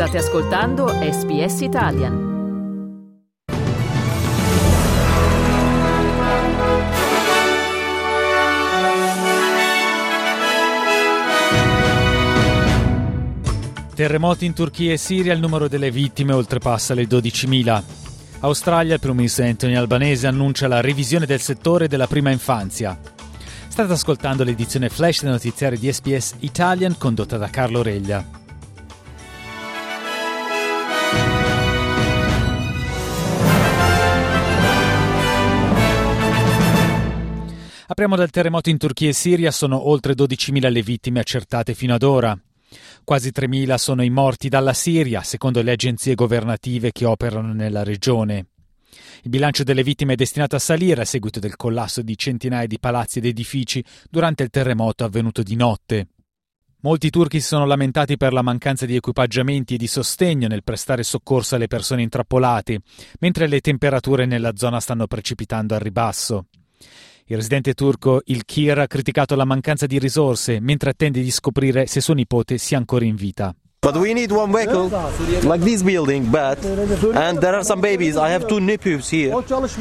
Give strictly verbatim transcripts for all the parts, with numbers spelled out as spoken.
State ascoltando S B S Italian. Terremoti in Turchia e Siria, il numero delle vittime oltrepassa le dodicimila. Australia, il primo ministro Anthony Albanese annuncia la revisione del settore della prima infanzia. State ascoltando l'edizione flash del notiziario di S B S Italian condotta da Carlo Reglia. Apriamo dal terremoto in Turchia e Siria, sono oltre dodicimila le vittime accertate fino ad ora. Quasi tremila sono i morti dalla Siria, secondo le agenzie governative che operano nella regione. Il bilancio delle vittime è destinato a salire a seguito del collasso di centinaia di palazzi ed edifici durante il terremoto avvenuto di notte. Molti turchi si sono lamentati per la mancanza di equipaggiamenti e di sostegno nel prestare soccorso alle persone intrappolate, mentre le temperature nella zona stanno precipitando al ribasso. Il residente turco Ilkir ha criticato la mancanza di risorse mentre attende di scoprire se suo nipote sia ancora in vita. But we need one vehicle like this building, but and there are some babies. I have two nephews here,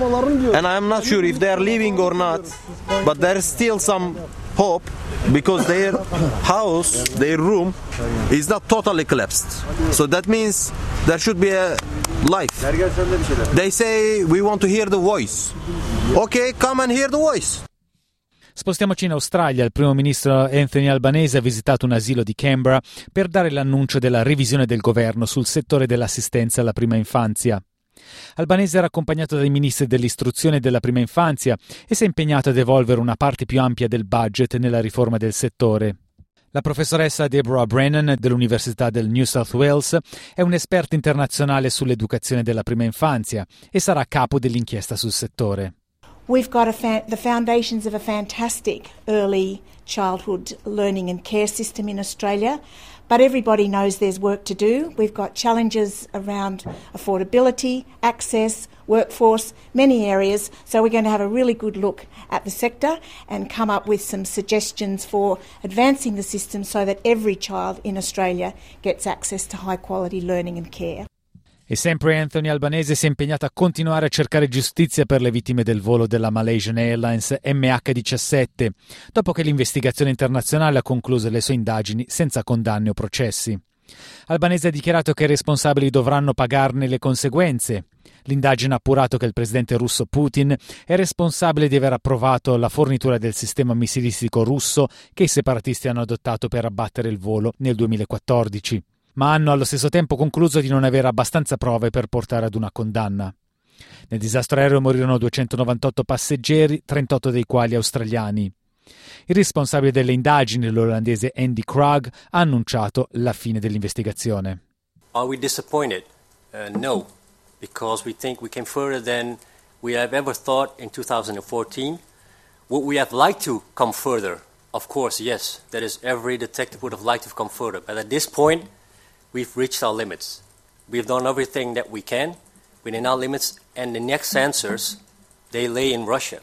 and I'm not sure if they are living or not. But there is still some hope because their house, their room, is not totally collapsed. So that means there should be a life. They say we want to hear the voice. Okay, come and hear the voice. Spostiamoci in Australia. Il primo ministro Anthony Albanese ha visitato un asilo di Canberra per dare l'annuncio della revisione del governo sul settore dell'assistenza alla prima infanzia. Albanese era accompagnato dai ministri dell'istruzione e della prima infanzia e si è impegnato ad evolvere una parte più ampia del budget nella riforma del settore. La professoressa Deborah Brennan dell'Università del New South Wales è un'esperta internazionale sull'educazione della prima infanzia e sarà a capo dell'inchiesta sul settore. We've got a fa- the foundations of a fantastic early childhood learning and care system in Australia, but everybody knows there's work to do. We've got challenges around affordability, access, workforce, many areas, so we're going to have a really good look at the sector and come up with some suggestions for advancing the system so that every child in Australia gets access to high quality learning and care. E sempre Anthony Albanese si è impegnato a continuare a cercare giustizia per le vittime del volo della Malaysian Airlines M H diciassette, dopo che l'investigazione internazionale ha concluso le sue indagini senza condanne o processi. Albanese ha dichiarato che i responsabili dovranno pagarne le conseguenze. L'indagine ha appurato che il presidente russo Putin è responsabile di aver approvato la fornitura del sistema missilistico russo che i separatisti hanno adottato per abbattere il volo nel duemilaquattordici. Ma hanno allo stesso tempo concluso di non avere abbastanza prove per portare ad una condanna. Nel disastro aereo morirono duecentonovantotto passeggeri, trentotto dei quali australiani. Il responsabile delle indagini, l'olandese Andy Krag, ha annunciato la fine dell'investigazione. Are we disappointed? Uh, no, because we think we came further than we have ever thought in two thousand fourteen. Would we have liked to come further? Of course, yes. That is, every detective would have liked to come further. But at this point, we've reached our limits. We've done everything that we can within our limits, and the next answers, they lay in Russia.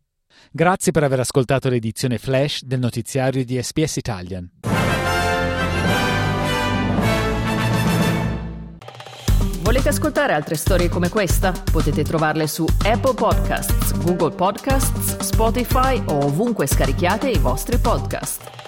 Grazie per aver ascoltato l'edizione flash del notiziario di S B S Italian. Volete ascoltare altre storie come questa? Potete trovarle su Apple Podcasts, Google Podcasts, Spotify o ovunque scarichiate i vostri podcast.